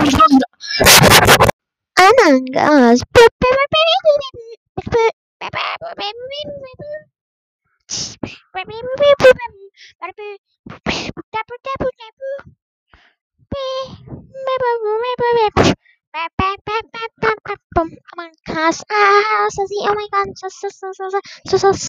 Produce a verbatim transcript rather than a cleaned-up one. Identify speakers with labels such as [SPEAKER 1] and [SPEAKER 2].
[SPEAKER 1] Among Us. Among Us. Ah, so see, oh my god, so so so so so so so